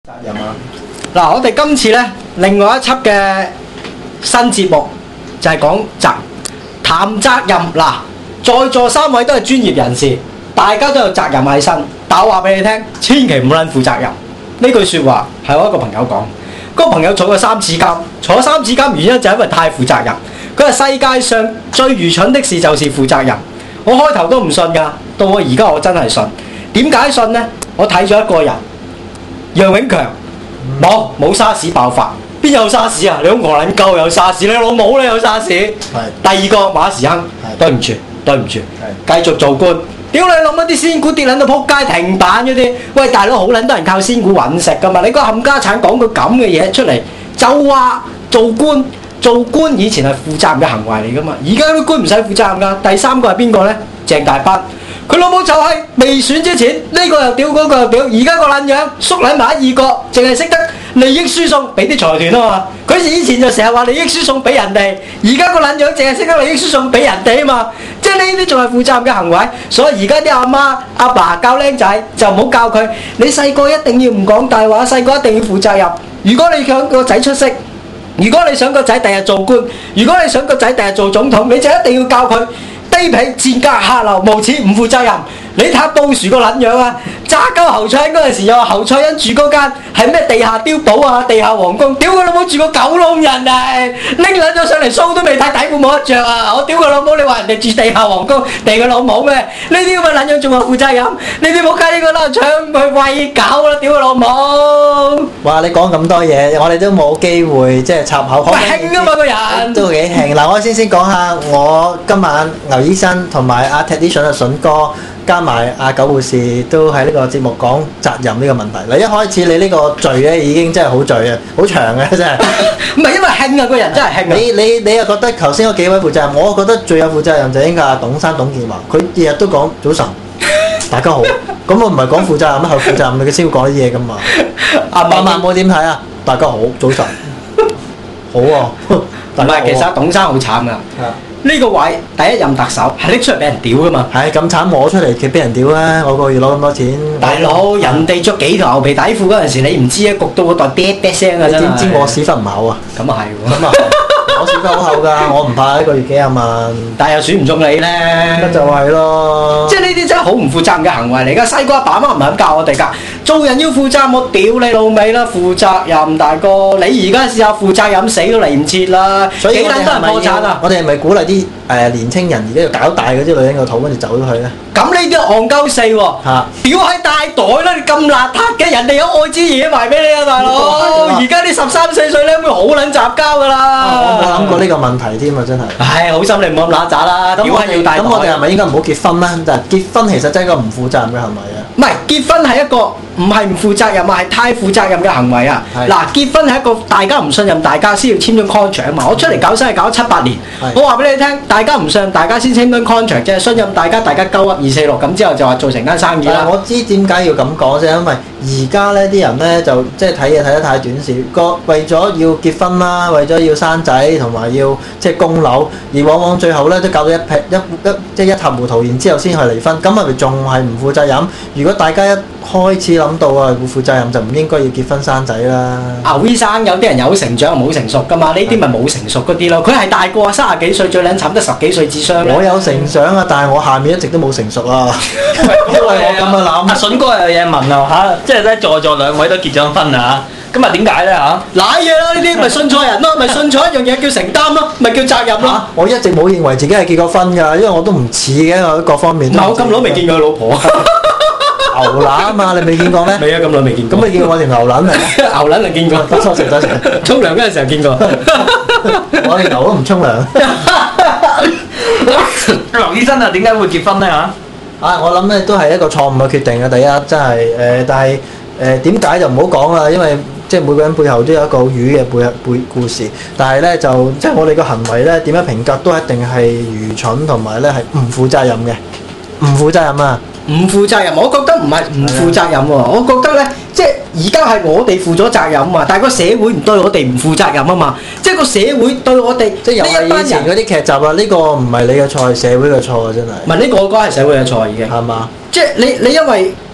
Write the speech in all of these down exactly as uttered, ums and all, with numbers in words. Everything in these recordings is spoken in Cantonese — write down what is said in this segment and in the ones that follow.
責任啊！ 嗱，我哋今次咧，另外一輯嘅新節目就係講責談責任。嗱，在座三位都係專業人士，大家都有責任喺身。但我話俾你聽，千祈唔好撚負責任。呢句説話係我一個朋友講。嗰個朋友坐過三次監，坐三次監原因就係因為太負責任。佢話世界上最愚蠢的事就是負責任。我開頭都唔信㗎，到我而家我真係信。點解信呢？我睇咗一個人。楊永強冇冇沙士爆發，邊有沙士啊？你好戇撚鳩有沙士，你老母你有沙士。係。第二個馬時亨，對唔住對唔住，繼續做官。屌你老母啲仙股跌撚到撲街停板嗰啲，喂大佬好撚多人靠仙股揾食㗎嘛？你個冚家產講句咁嘅嘢出嚟，就話做官做官以前係負責任嘅行為嚟㗎嘛？而家啲官唔使負責任㗎。第三個係邊個呢？鄭大班。佢老母就係未選之前，呢、這個又屌，嗰、那個又屌，而家個撚樣縮撚埋一二個，淨係識得利益輸送俾啲財團啊嘛！佢以前就成日話利益輸送俾人哋，而家個撚樣淨係識得利益輸送俾人哋啊嘛！即係呢啲仲係負責任嘅行為，所以而家啲阿媽阿爸教僆仔就唔好教佢，你細個一定要唔講大話，細個一定要負責任。如果你想個仔出色，如果你想個仔第日做官，如果你想個仔第日做總統，你就一定要教佢。卑鄙賤格下流無恥唔負責任，你睇下布殊個撚樣啊！揸鳩侯賽因嗰陣時又話侯賽因住嗰間係咩地下碉堡啊、地下皇宮，屌佢老母住個狗窿人啊！拎撚咗上嚟鬚都未睇，底褲冇得着啊！我屌佢老母，你話人哋住地下皇宮，地佢老母咩？呢啲咁嘅撚樣仲話負責任？你哋冇計呢個啦，搶佢餵狗啦！屌佢老母！ 哇！你講咁多嘢，我哋都冇機會即係插口。 喂，興啊嘛個人都幾興。嗱，我先先講下我今晚牛醫生同埋阿 Tradition 阿筍哥加埋阿九護士都喺呢個節目講責任呢個問題。嗱，一開始你呢個罪咧已經真係好罪啊，好長嘅真係。 唔係因為興啊，個人真係興啊。 你你你又覺得頭先嗰幾位負責任，我覺得最有負責任就應該係董生董建華，佢日日都講早晨，大家好。咁我唔係講負責任咩？係負責任佢先會講啲嘢㗎嘛。阿萬萬冇點睇啊？大家好，早晨，好啊。 唔係，其實董生好慘㗎。呢個位第一任特首係拎出嚟俾人屌㗎嘛？ 係咁慘，我出嚟佢俾人屌啦！我個月攞咁多錢， 大佬人哋着幾條牛皮底褲嗰陣時，你唔知啊，焗到個袋喋喋聲啊！ 你點知我屎忽唔厚啊？ 咁啊係喎， 咁啊我屎忽好厚㗎，我唔怕一個月幾廿萬， 但係又選唔中你咧， 咁就係咯。即係呢啲真係好唔負責任嘅行為嚟㗎。細個阿爸阿媽唔係咁教我哋㗎，做人要負責，我屌你老味啦！負責任大哥，你而家試下負責任，死都嚟唔切啦！幾撚多人破產啊？ 我哋係咪鼓勵啲誒年青人而家要搞大嗰啲女人個肚，跟住走咗去咧？ 咁呢啲戇鳩四喎，屌喺大袋啦！你咁邋遢嘅，人哋有愛滋嘢埋俾你啊，大佬！而家啲十三四歲咧，會好撚雜交㗎啦！ 我冇諗過呢個問題添啊，真係。 唉，好心你唔好咁揦渣啦！屌係要大袋。 咁我哋係咪應該唔好結婚咧？就係結婚其實真係一個唔負責任嘅行為啊！ 唔係結婚係一個唔係唔負責任啊，係太負責任嘅行為啊！嗱，結婚係一個大家唔信任大家先要簽咗 contract 啊嘛！我出嚟搞生意搞咗七八年，我話俾你聽，大家唔信任大家先簽咗 contract 啫，信任大家，大家鳩噏二四六咁之後就話做成間生意啦。 我知點解要咁講啫，因為而家呢啲人呢，就即係睇嘢睇得太短視，個為咗要結婚啦，為咗要生仔同埋要即係供樓，而往往最後呢，都搞到一劈一一即係一塌糊塗，然之後先去離婚，咁係咪仲係唔負責任？如果大家一開始諗到啊，會負責任就唔應該要結婚生仔啦。 牛醫生有啲人有成長冇成熟噶嘛，呢啲咪冇成熟嗰啲咯。佢係大個啊，三十幾歲最撚慘得十幾歲智商。 我有成長啊，但係我下面一直都冇成熟啊。因為我咁樣諗。 阿筍哥有嘢問啊嚇，即係咧在座兩位都結咗婚啊嚇，咁啊點解咧嚇？ 賴嘢啦，呢啲咪信錯人咯，咪信錯一樣嘢叫承擔咯，咪叫責任咯、啊。 我一直冇認為自己係結過婚㗎，因為我都唔似嘅，我各方面。 我咁耐未見過佢老婆。 牛腩啊嘛，你未見過咩？ 未啊，咁耐未見過。 咁你見過我條牛腩嚟？ 牛腩就見過。 多謝多謝。 沖涼嗰陣時候見過。 我哋牛都唔沖涼。 劉醫生啊，點解會結婚咧嚇？ 啊，我諗咧都係一個錯誤嘅決定啊！第一真係誒、呃，但係誒點解就唔好講啦，因為即係每個人背後都有一個魚嘅背背故事。但係咧就即係我哋個行為咧點樣評價都一定係愚蠢同埋咧係唔負責任嘅，唔負責任啊！ 唔負責任，我覺得唔係唔負責任喎，我覺得咧，即係而家係我哋負咗責任啊，但係個社會唔對我哋唔負責任啊嘛，即係個社會對我哋即係又係以前嗰啲劇集啊，呢個唔係你嘅錯，係社會嘅錯啊，真係。 唔係呢個，我覺得係社會嘅錯已經。 係嘛？ 即係你你因為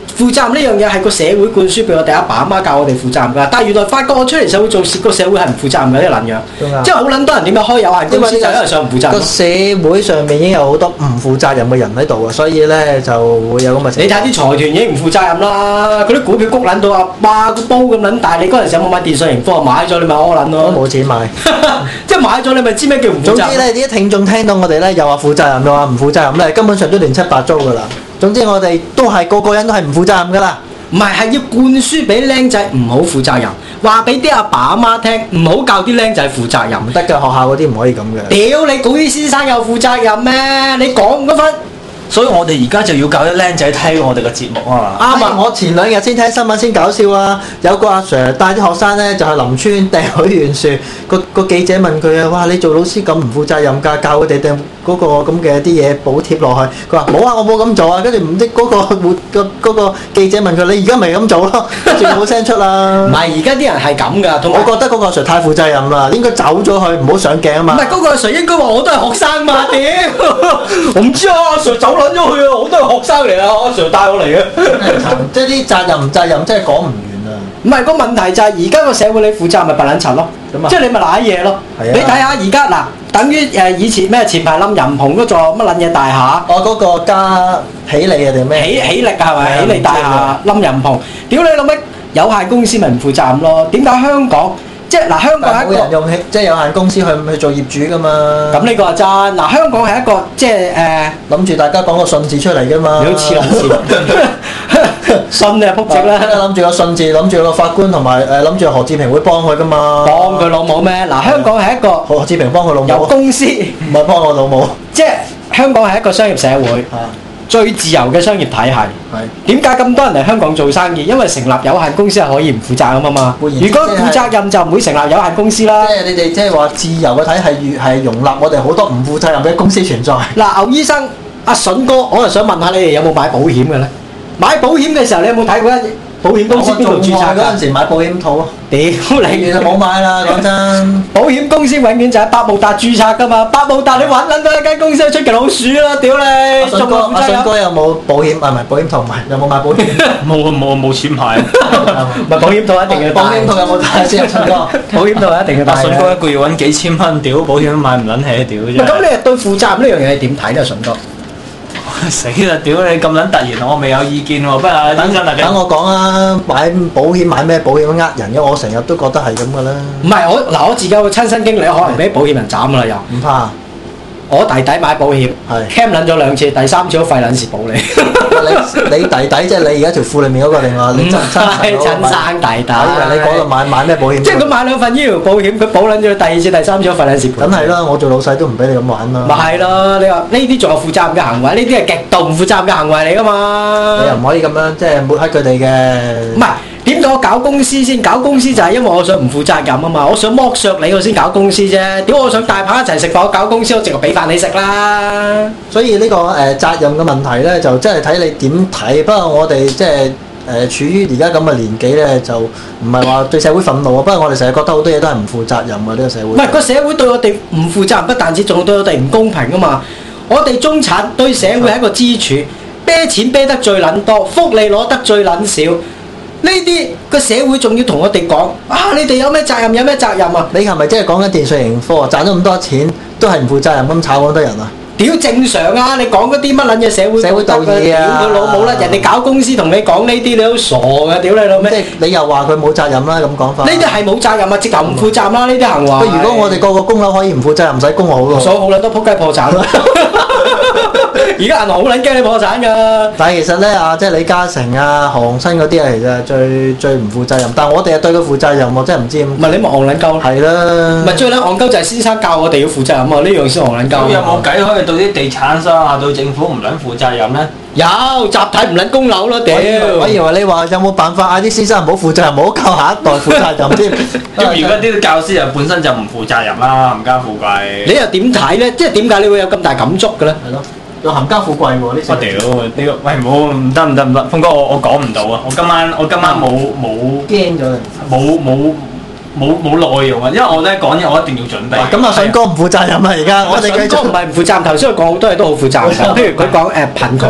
負責任呢樣嘢係個社會灌輸俾我哋阿爸阿媽教我哋負責任㗎，但係原來發覺我出嚟社會做事，個社會係唔負責任嘅呢個撚樣，即係好撚多人點解開有限公司就因為上唔負責任。個社會上面已經有好多唔負責任嘅人喺度啊，所以咧就會有咁嘅情況。 你睇啲財團已經唔負責任啦，嗰啲股票谷撚到啊，哇個煲咁撚大，你嗰陣時有冇買電訊盈科啊？買咗你咪屙撚咯。 都冇錢買， 即係買咗你咪知咩叫唔負責任。 總之咧，啲聽眾聽到我哋咧又話負責任，又話唔負責任咧，根本上都亂七八糟㗎啦。總之我哋都係個個人都係唔負責任㗎啦。 唔係，係要灌輸俾僆仔唔好負責任，話俾啲阿爸阿媽聽，唔好教啲僆仔負責任。唔得㗎，學校嗰啲唔可以咁嘅。 屌你，嗰啲先生有負責任咩？你講嗰份。 所以我哋而家就要教啲僆仔聽我哋嘅節目啊嘛。 啱啊！我前兩日先睇新聞先搞笑啊！有個阿 Sir 帶啲學生咧就去林村掟許願樹，個個記者問佢啊：哇！你做老師咁唔負責任㗎，教佢哋掟嗰個咁嘅啲嘢補貼落去。佢話冇啊，我冇咁做啊。跟住唔知嗰個活個嗰個記者問佢：你而家咪咁做咯？跟住冇聲出啦。唔係，而家啲人係咁㗎。同我覺得嗰個阿 Sir 太負責任啦，應該走咗去，唔好上鏡啊嘛。 唔係嗰個阿 Sir 應該話我都係學生嘛？屌！我唔知啊，阿 Sir 走撚咗去啊，我都係學生嚟啊，阿 Sir 帶我嚟嘅。 即係啲責任唔責任，真係講唔完啊！ 唔係個問題就係而家個社會你負責咪白撚柒咯，即係你咪賴嘢咯。你睇下而家嗱，等於誒以前咩前排冧人蓬嗰座乜撚嘢大廈？ 哦，嗰個加喜利啊定咩？ 喜喜力啊係咪？喜利大廈冧人蓬，屌你老味！有限公司咪唔負責任咯？點解香港？即係嗱，香港係一個冇人用即係有限公司去去做業主噶嘛。 咁呢個係真。嗱，香港係一個即係誒， 諗住大家講個信字出嚟噶嘛。 你好似諗字，信你係撲直啦。 諗住個信字，諗住個法官同埋誒諗住何志平會幫佢噶嘛。 幫佢老母咩？嗱，香港係一個何志平幫佢老母。 由公司唔係幫我老母。 即係香港係一個商業社會。最自由嘅商業體系，點解咁多人嚟香港做生意？因為成立有限公司係可以唔負責任啊嘛。如果負責任就唔會成立有限公司啦。 即係你哋即係話自由嘅體系越係容納我哋好多唔負責任嘅公司存在。 嗱，牛醫生、阿筍哥，我就想問下你哋有冇買保險嘅咧？買保險嘅時候，你有冇睇過一保險公司邊度註冊㗎？ 嗰陣時買保險套， 屌你！ 其實冇買啦，講真。 保險公司永遠就係百慕達註冊㗎嘛，百慕達你揾撚到一間公司出奇老鼠啦，屌你！ 阿筍哥，阿筍哥有冇保險？啊唔係保險套，唔係有冇買保險？ 冇冇冇錢買。 唔係保險套一定要。 保險套有冇帶先？阿筍哥， 保險套一定要帶。 阿筍哥一個月揾幾千蚊，屌保險買唔撚起，屌啫。 咁你係對負責任呢樣嘢點睇咧，筍哥？ 死啦！屌你咁撚突然，我未有意見喎。不過等陣等我講啊，買保險買咩保險呃人嘅？我成日都覺得係咁噶啦。 唔係我嗱，我自己有個親身經歷，可能俾保險人斬啦又。 唔怕。 我弟弟買保險，cam 撚咗兩次，第三次都費撚事保你。 你你弟弟即係你而家條褲裡面嗰個定話？你真真親生弟弟。 你嗰度買買咩保險？ 即係佢買兩份醫療保險，佢保撚咗第二次、第三次都費撚事保。 梗係啦，我做老細都唔俾你咁玩啦。 咪係咯，你話呢啲仲有負責任嘅行為，呢啲係極度唔負責任嘅行為嚟噶嘛？ 你又唔可以咁樣即係抹黑佢哋嘅。 唔係。點解我搞公司先？搞公司就係因為我想唔負責任啊嘛！我想剝削你，我先搞公司啫。點解我想大棚一齊食飯？我搞公司，我淨係俾飯你食啦。 所以呢、呢個誒、呃、責任嘅問題咧，就真係睇你點睇。不過我哋即係誒處於而家咁嘅年紀咧，就唔係話對社會憤怒啊。不過我哋成日覺得好多嘢都係唔負責任嘅呢、呢個社會。唔係個社會對我哋唔負責任，不但止仲對我哋唔公平啊嘛！我哋中產對社會係一個支柱，啤錢啤得最撚多，福利攞得最撚少。呢啲個社會仲要同我哋講啊！你哋有咩責任？有咩責任啊？ 你係咪即係講緊電訊盈科啊？賺咗咁多錢都係唔負責任咁炒咁多人啊？ 屌正常啊！你講嗰啲乜撚嘢社會社會道義啊！ 屌佢老母啦！人哋搞公司同你講呢啲，你都傻㗎！屌你老味！ 即係你又話佢冇責任啦咁講法。 呢啲係冇責任啊！直頭唔負責任啦！呢啲行為。 不如果我哋個個供樓可以唔負責任，唔使供我好咯。 所以好撚多撲街破產。而家銀行好撚驚你破產㗎。但係其實咧啊，即係李嘉誠啊、何鴻燊嗰啲啊，其實最最唔負責任。但係我哋係對佢負責任，我真係唔知點。 唔係你咪戇撚鳩咯。係啦。唔係最撚戇鳩就係先生教我哋要負責任啊！呢樣先戇撚鳩。 咁有冇計可以對啲地產商啊、對政府唔撚負責任咧？ 有集體唔撚供樓咯，屌！ 我以為你話有冇辦法嗌啲先生唔好負責任，唔好教下一代負責任添。 咁而家啲教師又本身就唔負責任啦，冚家富貴。 你又點睇咧？即係點解你會有咁大感觸嘅咧？ 係咯。又冚家富貴喎！呢我屌呢個，喂唔好唔得唔得唔得，峰哥我我講唔到啊！我今晚我今晚冇冇驚咗冇冇冇冇內容啊！因為我咧講嘢我一定要準備。 咁阿筍哥唔負責任啊！而家我哋繼續。 筍哥唔係唔負責任，頭先佢講好多嘢都好負責任。譬如佢講誒貧窮，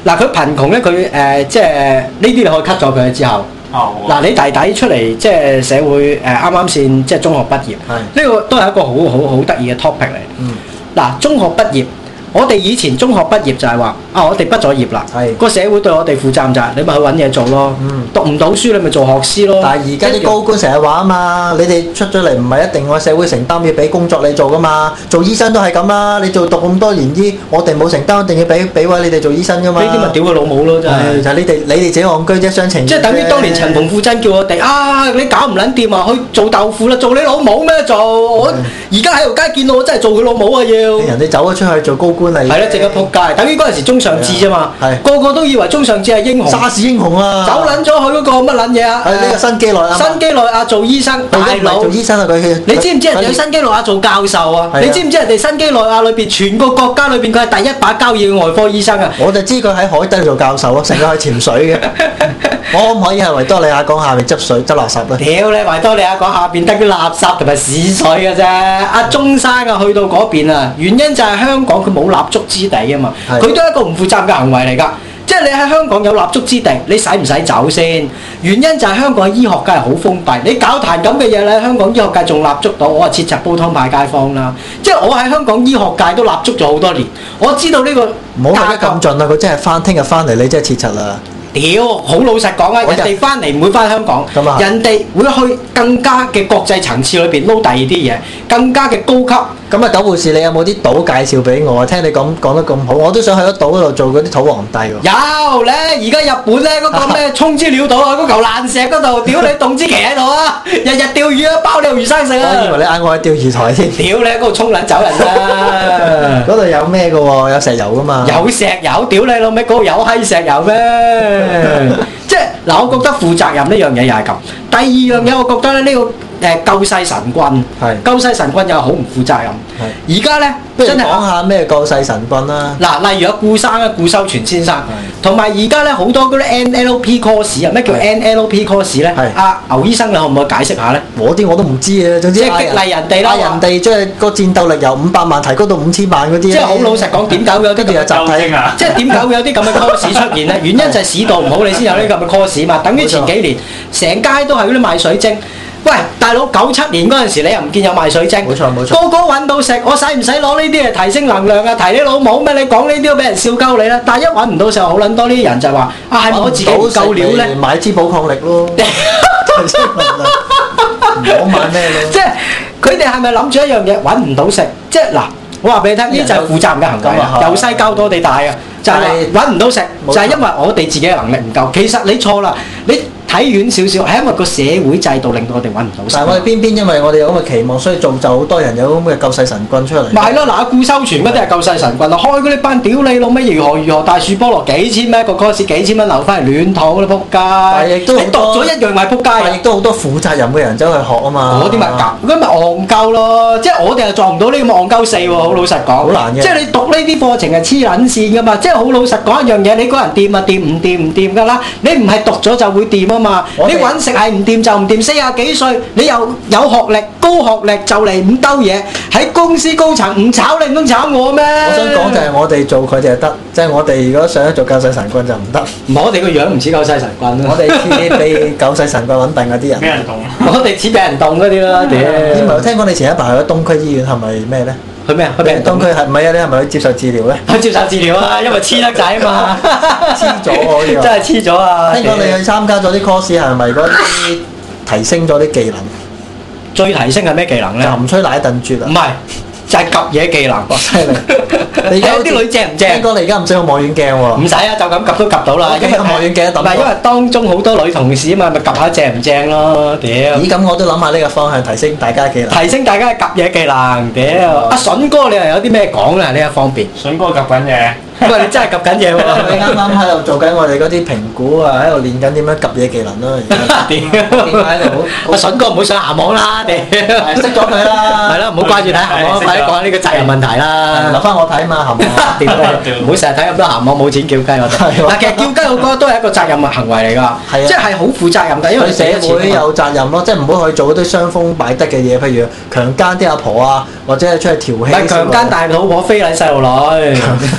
嗱，佢貧窮咧，佢誒即係呢啲你可以 cut 咗佢之後。 哦。 嗱，你弟弟出嚟即係社會誒啱啱先即係中學畢業，呢個都係一個好好好得意嘅 topic 嚟。 嗯。 嗱，中學畢業。我哋以前中學畢業就係話啊，我哋畢咗業啦，個社會對我哋負責唔責？你咪去揾嘢做咯。嗯、讀唔到書你咪做學師咯。 但係而家啲高官成日話啊嘛，你哋出咗嚟唔係一定我社會承擔要俾工作你做噶嘛。做醫生都係咁啦，你做讀咁多年醫，我哋冇承擔，一定要俾俾位你哋做醫生噶嘛。 呢啲咪屌佢老母咯，真係。就係、 你哋你哋自己戇居啫，雙情。 即係等於當年陳馮富珍叫我哋啊，你搞唔撚掂啊，去做豆腐啦，做你老母咩做？我而家喺條街見到我真係做佢老母啊要。 人哋走咗出去做高官嚟。係啦，淨係仆街，等於嗰陣時中上志啫嘛，個個都以為中上志係英雄， 沙士英雄啊， 走撚咗去嗰個乜撚嘢啊？ 係呢個新基內亞， 新基內亞做醫生，大佬做醫生啊佢， 你知唔知人哋去新基內亞做教授啊？你知唔知人哋新基內亞裏邊全個國家裏邊佢係第一把交椅嘅外科醫生啊？ 我就知佢喺海底做教授咯，成日去潛水嘅。我可唔可以喺維多利亞港下面執水執垃圾啊？ 屌你維多利亞港下邊得啲垃圾同埋屎水嘅啫。阿中山啊去到嗰邊啊，原因就係香港佢冇立足之地啊嘛，佢都係一個唔負責任嘅行為嚟㗎。即係你喺香港有立足之地，你使唔使走先？原因就係香港嘅醫學界係好封閉，你搞壇咁嘅嘢咧，香港醫學界仲立足到，我係切實煲湯派街坊啦。即係我喺香港醫學界都立足咗好多年，我知道呢個唔好睇得咁盡啦，佢真係翻聽日翻嚟，你真係切實啦。 屌，好老實講啊！人哋翻嚟唔會翻香港，人哋會去更加嘅國際層次裏邊撈第二啲嘢，更加嘅高級。 咁啊，九護士，你有冇啲島介紹俾我啊？聽你講講得咁好，我都想去嗰島嗰度做嗰啲土皇帝喎。 有咧，而家日本咧嗰個咩沖之鳥島啊，嗰嚿爛石嗰度，屌你凍之奇喺度啊！日日釣魚啊，包你魚生食啊！ 我以為你嗌我去釣魚台添。 屌你喺嗰度沖撚走人啦！ 嗰度有咩嘅喎？有石油噶嘛？ 有石油，屌你老味，嗰度有閪石油咩？即係嗱，我覺得負責任呢樣嘢又係咁。第二樣嘢，我覺得咧呢個。誒救世神棍，救世神棍又好唔負責任。而家咧，真係講下咩救世神棍啦。 嗱，例如有顧生啊，顧修全先生，同埋而家咧好多嗰啲 N L P course 啊，咩叫 N L P course 咧？阿牛醫生，你可唔可以解釋下咧？ 我啲我都唔知啊。總之即係激勵人哋啦， 人哋即係個戰鬥力由五百萬提高到五千萬嗰啲。即係好老實講，點解會有啲咁嘅集體啊？即係點解會有啲咁嘅 course 出現咧？原因就係市道唔好，你先有呢咁嘅 course 嘛。等於前幾年成街都係嗰啲賣水晶。喂，大佬，九七年嗰陣時，你又唔見有賣水晶？冇錯冇錯。個個揾到食，我使唔使攞呢啲嚟提升能量啊？提你老母咩？你講呢啲都俾人笑鳩你啦。但係一揾唔到時候，好撚多呢啲人就話：啊，係咪我自己唔夠料咧？ 買支寶礦力咯。提升能量。唔好買咩咯？即係佢哋係咪諗住一樣嘢揾唔到食？即係嗱，我話俾你聽，呢就係負責任嘅行為啊！由細教到我哋大啊，就係揾唔到食，就係因為我哋自己嘅能力唔夠。其實你錯啦，你。睇遠少少，係因為個社會制度令到我哋揾唔到食。 但係我哋偏偏因為我哋有咁嘅期望，所以造就好多人有咁嘅救世神棍出嚟。 咪係咯，嗱，顧修全嗰啲係救世神棍啊！開嗰啲班屌你老味，如何如何大樹菠蘿幾千蚊一個 course，幾千蚊留翻嚟亂套啦，仆街！ 但係亦都你讀咗一樣咪仆街啊！ 亦都好多負責任嘅人走去學啊嘛。 嗰啲咪夾，嗰咪戇鳩咯！即係我哋又撞唔到呢咁戇鳩四喎，好老實講。好難嘅。即係你讀呢啲課程係黐撚線噶嘛！即係好老實講一樣嘢，你個人掂啊掂，唔掂唔掂噶啦！你唔係讀咗就會掂啊嘛！你揾食係唔掂就唔掂，四廿幾歲你又有學歷、高學歷就嚟五兜嘢，喺公司高層唔炒你唔通炒我咩？ 我想講就係我哋做佢哋就得，即係我哋如果想做救世神棍就唔得。 我哋個樣唔似救世神棍咯， 我哋似被救世神棍穩定嗰啲人。 俾人動。 我哋似俾人動嗰啲啦，屌！ 你唔係聽講你前一排去咗東區醫院係咪咩咧？ 去咩啊？去俾人動。 東區係唔係啊？你係咪去接受治療咧？ 去接受治療啊！因為黐得仔啊嘛， 黐咗喎！ 真係黐咗啊！ 聽講你去參加咗啲 course 係咪嗰啲提升咗啲技能？ 最提升係咩技能咧？ 就唔吹奶燉絕啊！ 唔係，就係及嘢技能。 哇！犀利！ 你而家啲女正唔正？ 聽講你而家唔使用望遠鏡喎。 唔使啊，就咁及都及到啦。 因為望遠鏡一揼。唔係因為當中好多女同事啊嘛，咪及下正唔正咯？屌！ 咦，咁我都諗下呢個方向，提升大家技能。 提升大家嘅及嘢技能。屌！阿筍哥，你又有啲咩講咧？呢一方面。 筍哥及緊嘢。 喂，你真係及緊嘢喎！ 你啱啱喺度做緊我哋嗰啲評估啊，喺度練緊點樣及嘢技能咯。 屌！喺度好。阿筍哥唔好上鹹網啦！屌！ 識咗佢啦。係咯，唔好掛住睇鹹網，快啲講下呢個責任問題啦。留翻我睇嘛，鹹網。屌！ 唔好成日睇咁多鹹網，冇錢叫雞我哋。嗱，其實叫雞我覺得都係一個責任嘅行為嚟㗎，即係好負責任㗎，因為社會有責任咯，即係唔好去做嗰啲傷風敗德嘅嘢，譬如強姦啲阿婆啊，或者係出去調戲。 唔係強姦大老婆非禮細路女。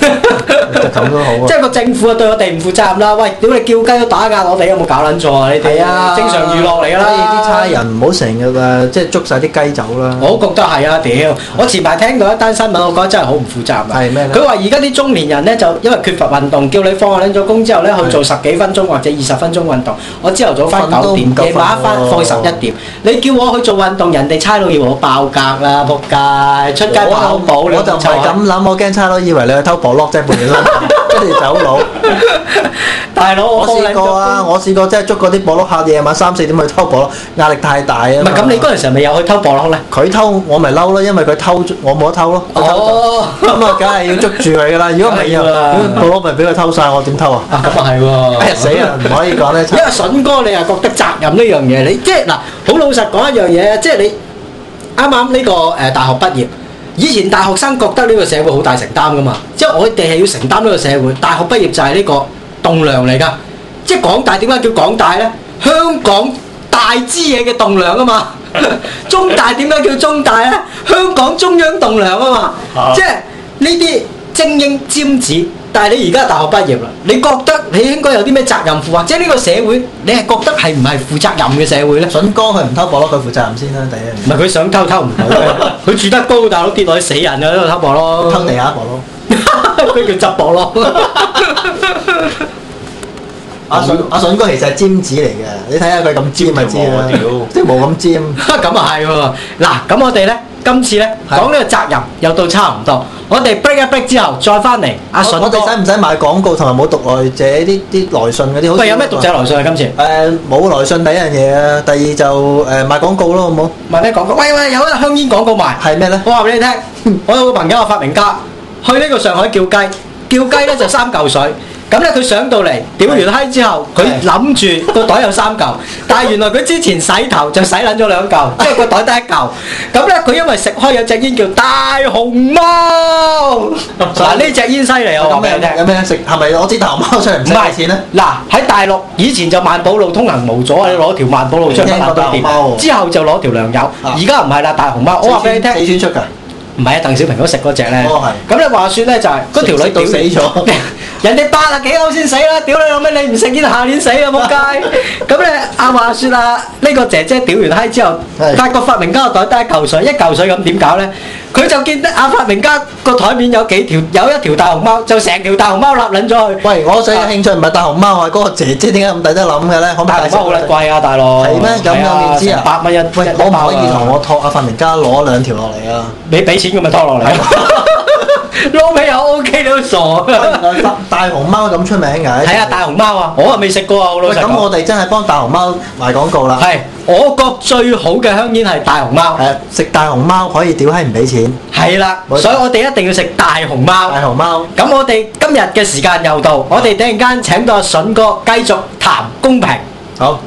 咁都好啊。 即係個政府啊對我哋唔負責任啦！喂，屌你叫雞都打壓我哋，有冇搞撚錯啊？你哋啊，正常娛樂嚟㗎啦。 所以啲差人唔好成日誒，即係捉晒啲雞走啦。 我覺得係啊，屌！我前排聽到一單新聞，我覺得真係好唔負責任。 係咩咧？ 佢話而家啲中年人咧就因為缺乏運動，叫你放下撚咗工之後咧去做十幾分鐘或者二十分鐘運動。我朝頭早翻九點，夜晚翻放十一點。你叫我去做運動，人哋差佬要我爆格啦，仆街！出街跑步， 我就唔係咁諗，我驚差佬以為你去偷薄碌啫，半夜三更跟住走佬。 大佬， 我試過啊！我試過即係捉嗰啲薄碌客，夜晚三四點去偷薄碌，壓力太大啊！ 唔係咁，你嗰陣時咪有去偷薄碌咧？ 佢偷我咪嬲咯，因為佢偷我冇得偷咯。 哦， 咁啊，梗係要捉住佢噶啦！如果唔係啊，薄碌咪俾佢偷晒，我點偷啊？ 啊，咁啊係喎！ 哎呀死啊！唔可以講咧。 因為筍哥，你又覺得責任呢樣嘢，你即係嗱，好老實講一樣嘢，即係你啱啱呢個誒大學畢業。以前大學生覺得呢個社會好大承擔噶嘛，即係我哋係要承擔呢個社會。大學畢業就係呢個棟梁嚟噶，即係港大點解叫港大呢？香港大支嘢嘅棟梁啊嘛。中大點解叫中大呢？香港中央棟梁啊嘛。啊即係呢啲精英尖子，但係你而家大學畢業啦，你覺得你應該有啲咩責任負啊？即係呢個社會，你係覺得係唔係負責任嘅社會呢？ 筍哥佢唔偷薄碌，佢負責任先啦，第一。 唔係佢想偷偷唔到嘅，佢住得高，大佬跌落去死人啊！喺度偷薄咯， 偷地下薄碌， 佢叫執薄咯。 阿筍阿筍哥其實係尖子嚟嘅，你睇下佢咁尖咪知啦，即係冇咁尖。 咁啊係喎，嗱咁我哋咧今次咧講呢個責任又到差唔多，我哋 break 一 break 之後再翻嚟。阿筍哥， 我哋使唔使買廣告同埋冇讀來者啲啲來信嗰啲？ 喂，有咩讀者來信啊？今次誒冇來信第一樣嘢啊，第二就誒賣廣告咯，好冇？ 賣咩廣告？喂喂，有一香煙廣告賣， 係咩咧？ 我話俾你聽，我有個朋友係發明家，去呢個上海叫雞，叫雞咧就三嚿水。咁咧佢上到嚟屌完閪之後，佢諗住個袋有三嚿，但係原來佢之前洗頭就洗撚咗兩嚿，即係個袋得一嚿。咁咧佢因為食開有隻煙叫大熊貓，嗱呢隻煙犀利啊！我話俾你聽， 有咩食？係咪我支大熊貓出嚟唔使賣錢咧？ 嗱喺大陸以前就萬寶路通行無阻，你攞條萬寶路出嚟乜都掂，之後就攞條糧油，而家唔係啦，大熊貓。我話俾你聽， 四川出㗎。 唔係啊，鄧小平都食嗰隻咧。 哦係。咁你話説咧就係嗰條女到死咗。 人哋八啊幾歐先死啦！屌你老味，你唔食煙下年死啊！仆街！咁咧阿話説啊，呢個姐姐屌完閪之後，發覺發明家個袋得一嚿水，一嚿水咁點搞咧？佢就見得阿發明家個台面有幾條，有一條大熊貓，就成條大熊貓立撚咗去。喂， 我最有興趣唔係大熊貓啊，嗰個姐姐點解咁抵得諗嘅咧？ 大熊貓好撚貴啊，大佬。係咩？咁有面知啊？百蚊一， 喂，我唔可以同我託阿發明家攞兩條落嚟啊！ 你俾錢佢咪拖落嚟。撈尾又 OK，你都傻。 大熊貓咁出名㗎？ 係啊，大熊貓啊，我啊未食過啊，好老實講。 咁我哋真係幫大熊貓賣廣告啦。 係，我覺最好嘅香煙係大熊貓。 係，食大熊貓可以屌閪唔俾錢。係啦，所以我哋一定要食大熊貓。 大熊貓。咁我哋今日嘅時間又到，我哋突然間請到阿筍哥繼續談公平。 好。